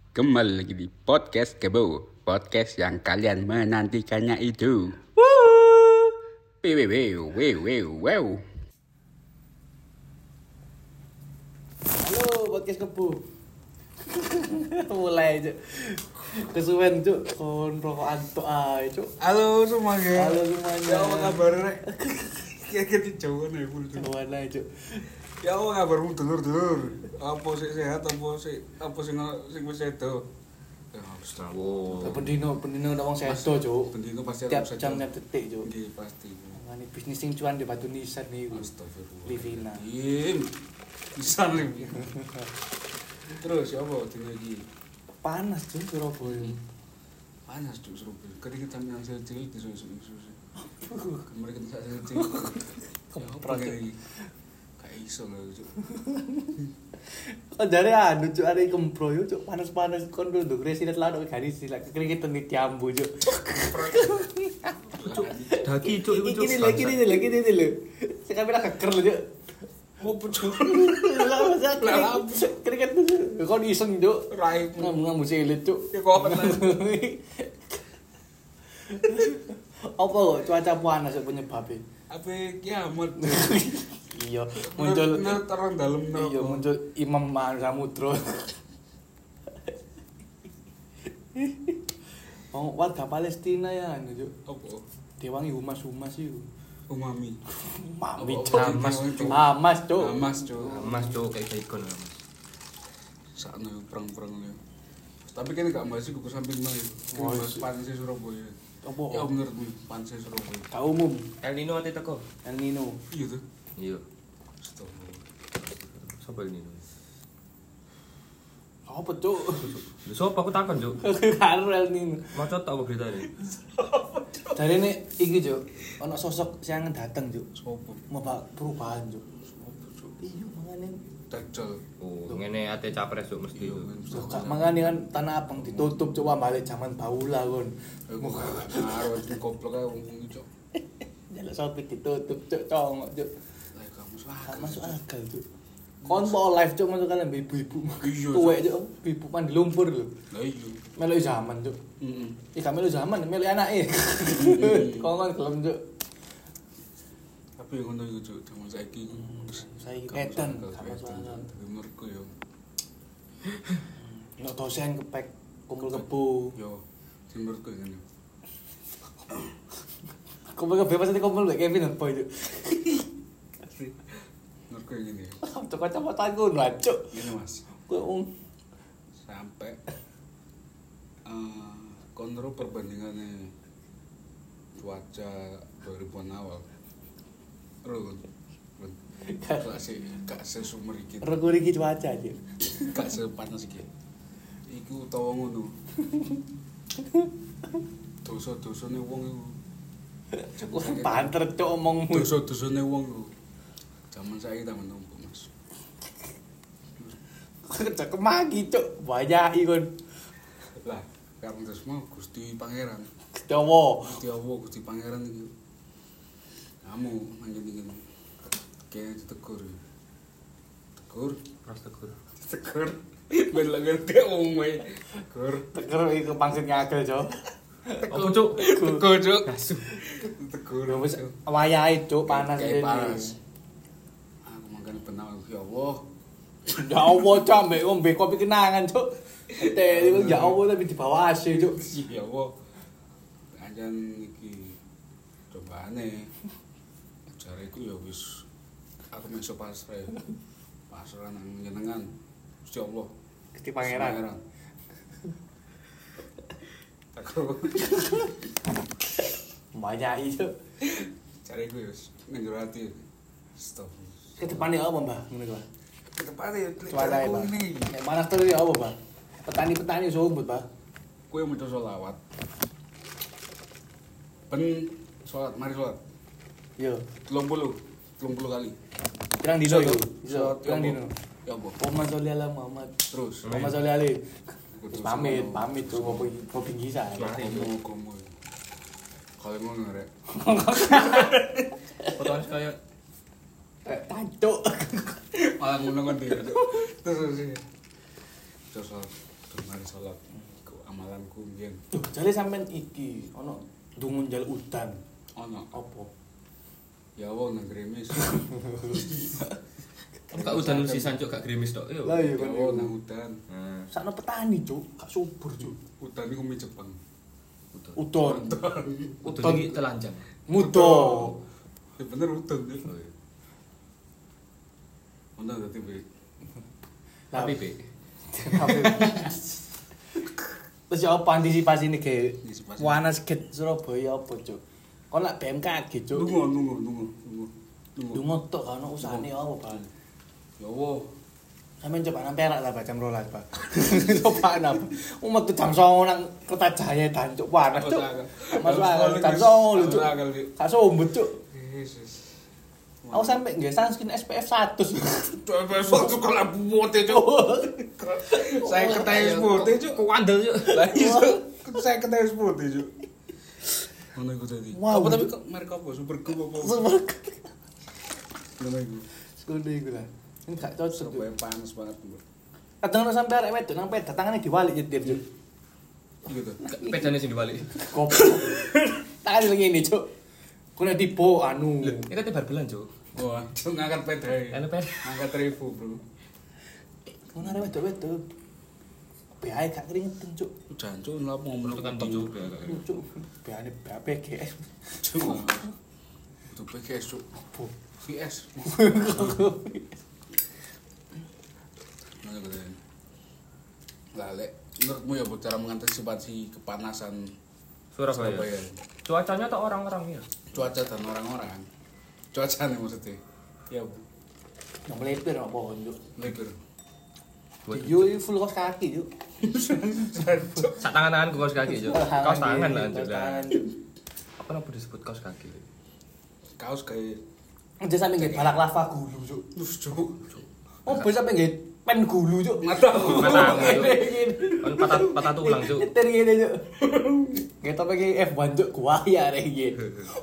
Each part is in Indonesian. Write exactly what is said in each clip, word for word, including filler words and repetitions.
Kembali lagi di Podcast Kebo, podcast yang kalian menantikannya itu. Wew, wew, wew, wew, wew. Halo, podcast Kebu. Mulai, Cuk. Kesuwen, Cuk. Kon rokokan tok ae, Cuk. Halo semuanya. Halo semuanya. Ya apa kabar rek? Kayak di Jawa nih full Cuk. Semuanya, Cuk. Ya apa kabarmu dulur-dulur? Apa sih sehat apa sih apa sing sing wis sedo? Ya harus tahu. Pendino, pendino ndak wong sedo, Cuk. Pendino pasti Tiap harus sedo. jam tiap detik, Cuk. Nggih pasti. Ini bisnis sing cuan di Batu Nisan niku. Astagfirullah. Livina. Im. Bisa nih. Terus ya apa dina iki? Panas, Cuk, Surabaya. Panas Cuk Surabaya. Keringetan yang cilik disusuk-susuk. Kemarin kita sak cilik. Kemprak, Cuk. Kayak iso lho Cuk. Kok jare anu, Cuk, arek kempro yo, Cuk. Panas-panas kon nduk resinet lan gari silak keringetan di diambu, Cuk. Daki cuk iku cuk. Iki lagi ini lagi ini lho. Sekarang bila keker lho, Cuk. Opo Cuk? Lah masa keringet kon iseng, Cuk. Rai Ngomong silit, Cuk. ya kok apa Apa kok cuaca panas penyebabnya? apa kiamat Iya, muncul menurut orang dalam iya muncul Imam Samudra. Oh, warga Palestina ya anu, Cuk. apa Diwangi humas-humas iku. umami Mami, Apa- Cuk. apa Hamas, diwangi, Cuk. Hamas, Cuk. Hamas Cuk Mas cuk kayak bacon Mas. sakno perang-perang ya tapi kan gak bahas iku ke samping mah Oh, bahas iya. panse Surabaya Apa? ya menurutmu panse Surabaya Ka umum El Nino ate teko. El Nino. iya tuh Iya. astagfirullah Sopo El Nino? Apa, Cuk? Lho sopo aku takon cuk. Karo El Nino. Maca tok apa beritane? Jarene iki, Cuk. Ana sosok sing dateng, Cuk. sopo Mau perubahan, Cuk. sopo Cuk Iya, makane dajjal Oh, ngene ate capres cuk mesti. iya Cuk. men Loh, Kak, makanya kan Tanah Abang ditutup coba balik zaman baula kon. aku karo itu goblok ae wong Cuk Jaluk sopir ditutup cuk congok cuk. lah kamu Gak salah masuk akal cuk. Kon po live cuk masuk kalian ibu-ibu. Iya, Tuwek cuk, ibu pan di lumpur lho. lah iya Melok zaman cuk. heeh Ih, gak melok zaman, melok anake. Kon gelem cuk. tapi yang ngono iku Cuk jaman saiki Saiki gak edan, masuk gak akal, masuk edan. akal. Tapi menurutku yo Nek dosen kepek kumpul kebo. yo sing menurutku ngene Kumpul kebo pasti kumpul mbek Kevin apa cuk. asli menurutku ngene Cuk kacamata ngono cuk. ngene Mas Kowe wong sampai eh konro perbandingannya cuaca dua ribuan awal Rul Rul gak se gak sesumer iki rego iki cuaca cuk. gak sepanas iki iku utawa ngono dosa-dosane wong iku Wah, banter cuk omongmu. dosa-dosane wong iku jaman saiki ta menompo Mas Cek magi cuk, banyak ikon. lah karena terus mau Gusti Pangeran Jawa. Gusti Allah Gusti Pangeran iki kamu manjen-manjen kayak ditegur tegur Ras tegur. tegur ben lagi ngerti ngomong wae tegur Teker iku pangsit ngagel, Cuk. Apa cuk? tegur cuk Asu. tegur Ya wis wayahe, Cuk, panas Kayak ini. panas aku makan benang ya Allah Ya Allah, Cuk, ambek ngombe kopi kenangan, Cuk. Teh iku ya Allah tapi di bawah A C, Cuk. ya Allah anjan iki cobane jariku ya wis aku meso pasrah pasrah nang jenengan Gusti Allah Gusti Pangeran. aku Banyak itu. cariku ya wis nang jero ati stop Ke depane apa, Mbah? Ngono ku. ke depan ya Cuaca ya, Pak. ini Nek panas terus ya apa, Pak? Petani-petani sumbut, Pak. kue mau sholawat ben sholat mari sholat Yo. telung puluh telung puluh kali Pirang dino iku? Iso, Sholat pirang ya dino. apa? Ya apa? Muhammad sholli ala Muhammad. Terus. Muhammad sholli alaihi. Kudu Pamit, sama. pamit tuh ngopi ngopi gisa. Komo komo. Kalau mau ngerek. Potongan kaya Tancuk. Malah ngono kan dia. Terus sih. Terus Aduh, mari salat. Ku amalanku mbiyen. Duh, jale sampean iki ono dungun jal udan. Ono Apa? ya wong nang gerimis. Kak udan sisan cuk gak gerimis tok. Yo. Lah iya Ya kan. wong nang udan. Nah, Sakno petani, Cuk. Gak subur, Cuk. Udan iku mie Jepang. udan. Udon. Udan iki telanjang. Mudo. Ya bener udan. Cuk. Oh, iya. Ono dadi be. Tapi be. Terus ya apa antisipasi nih ke Antisipasi. Wanas ke Surabaya apa, Cuk? Kok nak B M K G, Cuk? Lungo, lungo, lungo, lungo. Lungo. Dungo tok kan usahane apa, Bang? Ya wo. Sampeyan coba nang Perak lah jam rolas, Pak. Coba nang umat jam songo nang Kertajaya dan Cuk. Wanas, Cuk. Masuk akal jam songo lho, Cuk. Gak sombet, Cuk. Yesus. Aku sampe nggih sunscreen S P F seratus. Cuk, besok tuh kalau putih cuk. Saya ketemu putih cuk. Kuandel cuk. Lah iya cuk. Saya ketemu putih cuk. Ngono iku tadi. Wow. Apa tapi kok merek apa? Super Group apa? Super. Ngono iku. Sekolah iku lah. Ini gak cocok, Cuk. Sampai panas banget tuh. Kadang ora sampe arek wedok nang peda tangane diwalik nyetir, Cuk. Gitu. Pedane sing dibalik. Goblok. Tangan ngene, Cuk. Kena tipu anu. Ini kan tebar belan cuk. Wah, cuk ngangkat pedai. Anu ped. Ngangkat ribu, Bro. Ngono arek wedok-wedok. B A gak keringetan, Cuk. Jancuk lha ngomong Tekan tekan cuk. Cuk, B A ne B A P G S. Cuk. Itu P G S cuk. Apa? V S. Ngono iku tadi. Lah lek menurutmu ya Bu cara mengantisipasi kepanasan Surabaya. Surabaya? Cuacanya atau orang-orang ya? Cuaca dan orang-orang. Cuaca nih maksudnya. Ya Bu. Nang melepir nang pohon, Cuk. Lekir. Yo iki full kaos kaki, Cuk. Sak tangan-tangan kaos kaki cuk. Kaos tangan lah cuk. Kaos tangan. Apa namanya disebut kaos kaki? Kaos kayak Aja sampe nggih balak lava gulu, Cuk. Terus cuk. Oh, bisa sampe nggih pen gulu, Cuk. Mata. Mata. Ngene, ngene. Kan patah patah tulang cuk. Nyetir ngene, Cuk. Kita pakai F satu, Cuk. Kuah ya arek iki.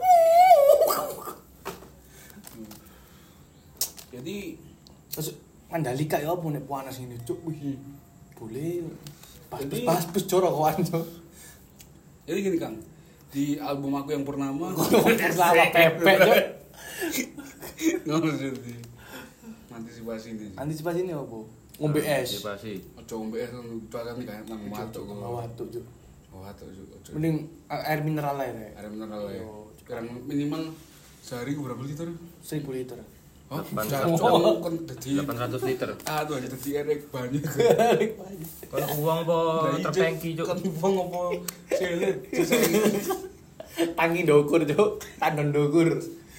Jadi Terus Mandalika ya apa nek panas ngene, Cuk. Wih. Boleh. Pas Jadi- pas bus jorok kawan, Cuk. jadi gini Kang. Di album aku yang purnama Lava pepek, Cuk. ngono jadi. Antisipasi ini. Antisipasi ini apa? Ngombe es. Antisipasi. Ojo ngombe es cuaca ini kayak nang matuk kok. Waduh, Cuk. Watuk cuk. Ojo. Mending uh, air mineral aja ya. Air mineral ya. Yo. Sekarang minimal sehari ku berapa liter? seribu liter. Oh, Delapan jancuk ratus. kan dadi delapan ratus liter. aduh dadi erek banyak. Kalau uang apa terpengki cuk. Kan wong apa selet. Tangi ndokur, Cuk. Tandon ndokur.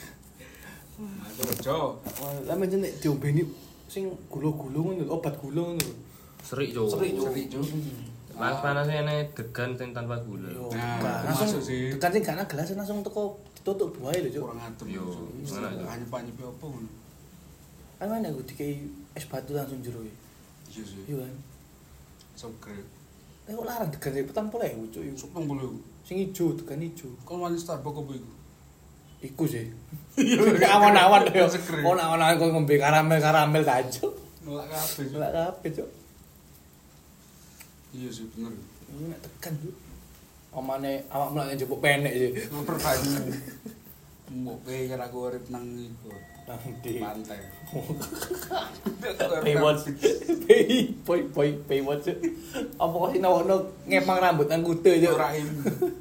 Ojo. Lah mencen nek diombeni sing gula-gula ngono, obat gula ngono. Serik cuk. Serik, Cuk. Serik cuk. Panas-panasnya ini degan sing tanpa gula. Yo, Nah, bukan. itu langsung masuk sih. tekan sing gak gelas langsung teko ditutup buahe lho, Cuk. Kurang adem. Yo, gimana, Cuk? Anyep-anyep apa ngono. Kan mana aku dikai es batu langsung jero iki. Iya sih. Iya kan. Seger. Eh kok larang degan sing petang puluh ewu, Cuk. Supang bulu. Sing ijo, degan ijo. Kon wani Starbucks apa iku? Iku sih. Awan-awan yo. Seger. Oh, awan-awan kok ngombe karamel-karamel ta, Cuk. Nolak kabeh. Cuk. Lah kabeh, Cuk. Iya sih bener. Ini nek tekan, Cuk. Omane awak mulane njupuk penek sih. Pertanyaan. Mbok kowe kira aku urip nang iku. Nang di Pantai. Paywatch. Pay boy boy paywatch. Apa kok sinono ngepang rambut nang kuda, Cuk. Rahim.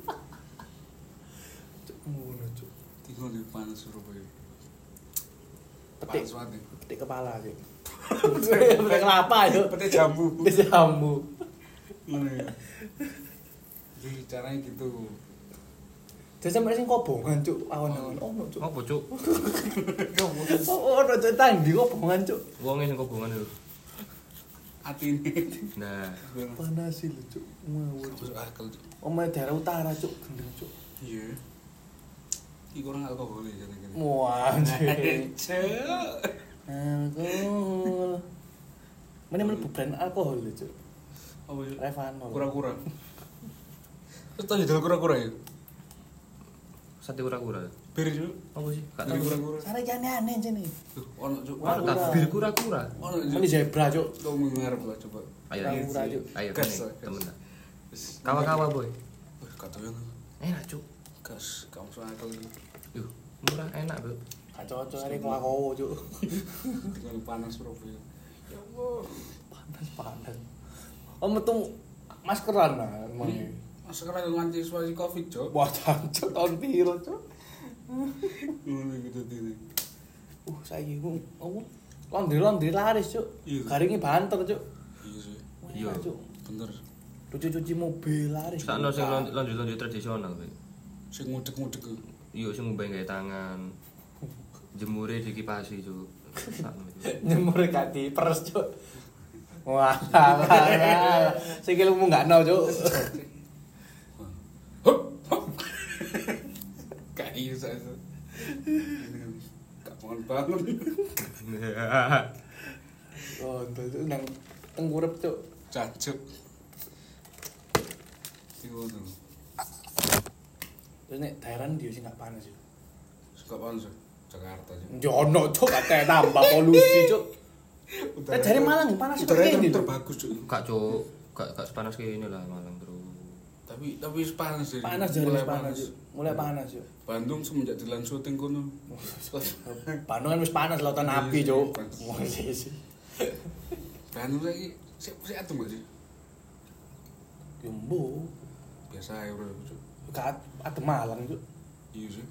Cuk, ngono, Cuk. Tinggal di panas Surabaya. Petik. Panas banget. Petik kepala, Cuk. Petik kelapa, Cuk. Petik jambu. Petik jambu. Ngono ya. Jadi caranya gitu. Jadi sampe sing kobongan, Cuk. Awan-awan ono, Cuk. Apa cuk? Oh, ono Cuk tandi kobongan, Cuk. Wonge sing kobongan lho. Atine. Nah, Panas sih lho, Cuk. Ngawur, Cuk. Masuk akal. Cuk. Omahe daerah utara, Cuk. Gendeng, Cuk. Iya. Iki kurang alkohol ya jane kene. Wah, anjir. Cuk. Alkohol. Mana mlebu brand alkohol lho, Cuk. Apa ya? Revanol. Kura-kura. Terus tadi dol kura-kura ya? sate kura-kura. Bir Cuk. Apa sih? Gak Bir tahu. kura-kura. Sare aneh-aneh jene. Tuh, ono Cuk. Wah, Tak bir kura-kura. Ono Ini Cuk. zebra, Cuk. Kamu ngarep lah coba. Ayo, Murah, Cuk. ayo Gas, kene, gas. temen. Kawa-kawa, Boy. Wih, kata yang Enak, Cuk. gas, kamu soal akal itu. Yuh, murah enak, Bro. Gak cocok hari kelakowo, Cuk. Tinggal panas Surabaya. Ya Allah. Panas-panas. Oh, metu maskeran nah, emang. Mas sekarang antisipasi Covid, Cok. Wah, jancuk tahun piro, Cuk. Ngono gitu dene. Uh, saiki ku opo? Laundry-laundry laris, Cuk. Iya. Garinge banter, Cuk. Iya sih. Iya. Wah, Cuk. Bener. Cuci-cuci mobil laris. Sakno sing lonjol-lonjol tradisional, Boy. Sing ngudek-ngudek ku. Iya, sing ngombe gawe tangan. Jemure dikipasi, Cuk. Sakno itu. Nyemur gak diperes, Cuk. Wah, lah. Sikil mu gak no, Cuk. Gak iya saya. Gak mohon banget. Oh, itu nang tengkurep, Cuk. Cancuk. Iku tuh. Terus nek daerah dia sing gak panas, Cuk. Suka panas ya? Jakarta aja. Yo ono, Cuk, gak tambah polusi, Cuk. Nek dari Malang panas kok Udaranya kene, Cuk. terbagus, Cuk. Gak, Cuk. Gak gak sepanas kayak ini lah Malang terus. Tapi tapi panas sih. Panas jadi panas, Cuk. Mulai panas, Cuk. Bandung semenjak dilan syuting kono. Bandung kan wis panas lautan api, Cuk. Wah, sih sih. Bandung saiki sik sik adem gak sih? Yo mbo, Biasa ae bro, Cuk. gak adem Malang, Cuk. Iya sih.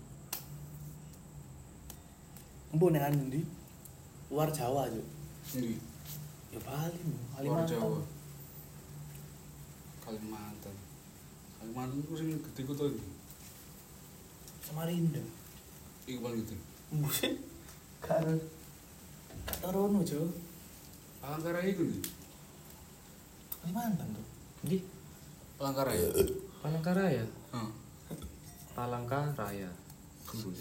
Mbo nek anu ndi? Luar Jawa, Cuk. Endi? Ya Bali, Luar Kalimantan. Jawa. Kalimantan. Kalimantan ku sing gede kota iki. Samarinda. Iku paling gede. Mbo sih. Karo Katarono, Cuk. Palangkaraya iku ndi? Kalimantan tuh. Di Palangkaraya. Palangkaraya. Heeh. Palangkaraya. Kembus.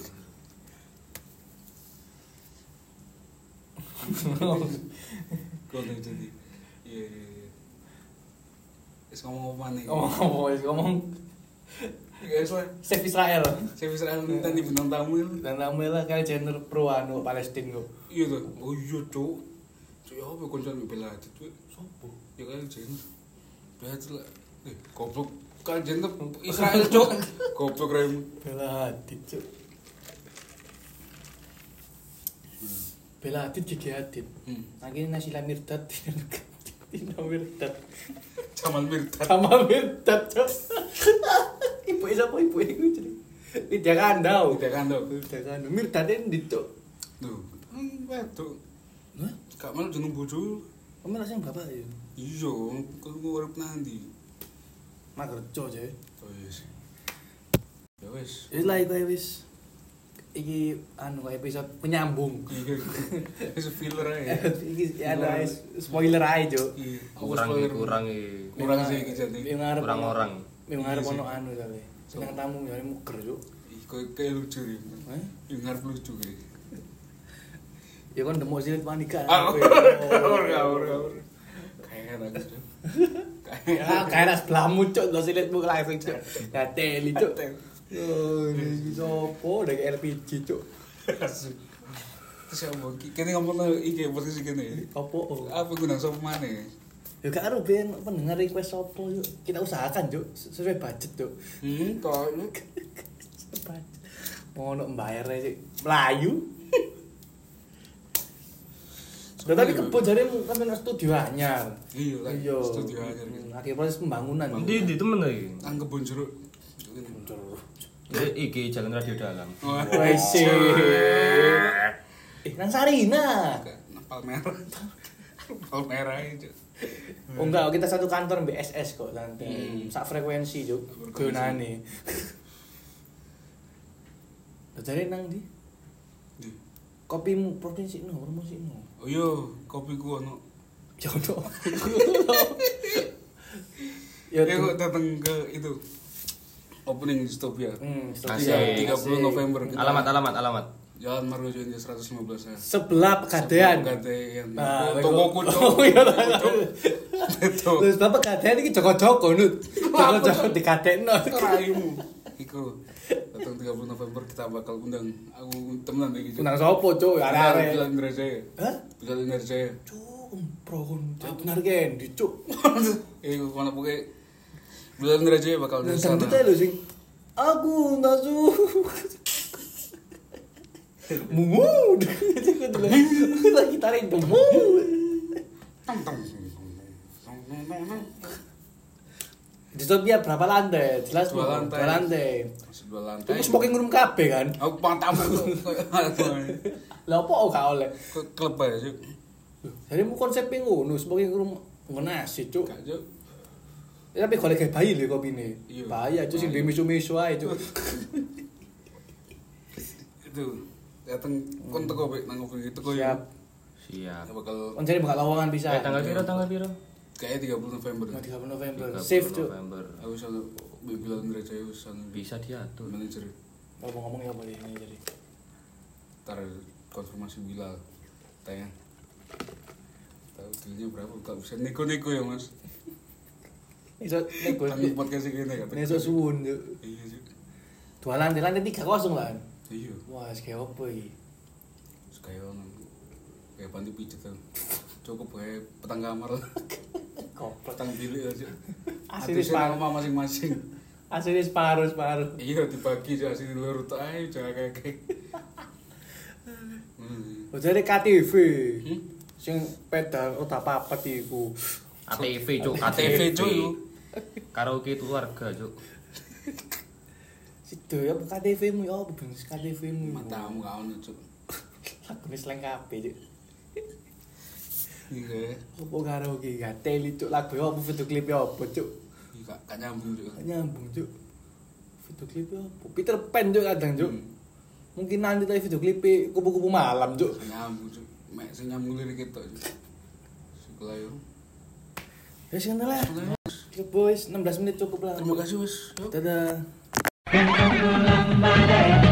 Kono jadi. Iya iya iya. Wis ngomong apa nih? Oh, wis ngomong Guys lah. Save Israel. Saya bisa nanti bintang tamu ya. Dan namanya kayak Jenner pro anu Palestina kok. Iya tuh. Oh iya, Cuk. Cuk, ya apa koncoan bela Hadid, Cuk? Sopo? Ya kan Jenner. Bela Hadid lah. Eh, goblok. Kan Jenner Israel, Cuk. Goblok rem. Bela Hadid, Cuk. Bela Hadid Gigi Hadid. Hmm. Akhirnya Nasila Mirdad Tina Mirdad. Jamal Mirdad. Sama Mirdad, Cuk. Ibu siapa ibu itu jadi? Lydia Kandau. Tidak kan tuh. Lydia Kandau. Mirdad ini, Cuk. Tuh. Hmm, tuh. Hah? Gak malu jeneng bojo. Kamu rasanya bapak ya? Iya, kan gua urip nanti. Magerjo aja. Oh yes. Ya wis. Wis lah iku wis. Iki anu episode penyambung. Iya. Wis filler ae. Iki ada spoiler aja, Cuk. Iya. Kurang Spoiler. kurang iki. Kurang sih iki jadi. Yang ngarep Kurang ono- orang. Yang ngarep Iya sih. ono anu kali. Senang tamu ya muger, Cuk. Ih, kayak kayak lucu ya. Hah? Yang ngarep lucu kayak. Ya kan demo silit panika. Ah, Aku Ngawur, ya. ngawur, ngawur. Kayak enak gitu. Ya, kayak ras belamu, Cuk. Lo silitmu langsung, Cuk. Ya teli, Cuk. Oh, ini sopo dari L P G, Cuk. Terus ya apa? Kini ngomong lo iki posisi kini. Opo? Apa guna sopo mana? Ya gak aru ben pendengar request sopo, Cuk. Kita usahakan, Cuk. Sesuai budget, Cuk. Hmm, kok lu Mau ono mbayar aja, Melayu. Loh, tapi kebo jaremu kan ono studio anyar. Iya, lah, Iya. studio anyar gitu. Akhir proses pembangunan. Di di temen lagi. Nang kebun jeruk. Jadi iki jalan radio dalam. Wes sih. Eh, nang Sarina. Palmera. Palmera itu. Oh enggak, kita satu kantor B S S kok nanti. Hmm. Sak frekuensi, Cuk. Gunane. Lah jare nang ndi? Di. Kopimu provinsi no, promosi no. Oh iya, kopi ku ono. Ya ono. Ya Ya kok datang ke itu opening Dystopia. Hmm, Asik. tiga puluh November kita. Alamat alamat alamat. Jalan Margojo India seratus lima belas ya. sebelah Pegadaian. Pegadaian. Ah, Tokoku, Cuk. Oh iya lah. Betul. Terus Bapak Pegadaian iki Joko-Joko nut. Joko-Joko dikadekno. Raimu. Iku datang tiga puluh November kita bakal undang aku temenan iki. Undang sopo, Cuk? Bilal Arek-arek. Indrajaya. Hah? Bilal Indrajaya. Cuk, Umpro kon benar kan dicuk. Iku kono pokoke bulan raja bakal Nah, di sana. dangdut ae lho sing aku enggak suka. Mungu. Lagi tarik mungu. Tong tong. Di Tokyo berapa lantai? Jelas Dua Bu. lantai. Dua lantai. Dua lantai. Terus smoking room kabeh kan? Aku pantamu Lah opo gak oleh? klub aja sih. Jadi mu konsepnya ngono, smoking room ngono sih, Cuk. Gak juk. Ya, tapi golek kayak bayi lho kopine. Iya. Bahaya itu sing Bahaya. misu-misu ae, Cuk. Itu dateng kon teko pek nang kopi teko ya. Siap. Siap. Bakal Kon jare bakal lowongan bisa. Eh, tanggal piro tanggal piro? kayak tiga puluh November. tiga puluh November. tiga puluh Safe, Cuk. November. Aku selalu bilang gereja itu sana Bisa diatur. manajer. Kalau mau ngomong ya boleh ini jadi. Ntar konfirmasi Bilal tanya tahu dealnya berapa gak bisa nego-nego ya mas Iso nego. tanggung podcast gini kata Iso suwun, Cuk. iya sih Dua lantai, lantai tiga kosong lah. iya Wah, kayak apa iki? terus kayak orang kayak panti pijat tuh cukup kayak petang kamar lah Goblok. petang bilik aja Asli atusnya separuh. nama masing-masing Asli separuh, separuh. iya dibagi aja asli luar tuh ayo jangan kayak kayak hmm. Oh, jadi K T V. Hmm? Sing pedal ora papat iku. A T V cuk, A T V cuy Karaoke keluarga cuk. Sido ya K T V-mu ya apa bensis K T V-mu. matamu gak ono cuk Lagune slang kabeh, Cuk. iya Apa karaoke gak teli, Cuk. Lagu apa video klip apa, Cuk? iya gak gak nyambung cuk Gak nyambung, Cuk. Video klip apa? Peter Pan, Cuk, kadang, Cuk. Hmm. Mungkin nanti tadi video klip kupu-kupu malam, Cuk. Gak nyambung cuk mek sing nyambung lirik itu cuk sekolah yo Ya sing lah. Ya boys, enam belas menit cukup lah. terima kasih wis Dadah.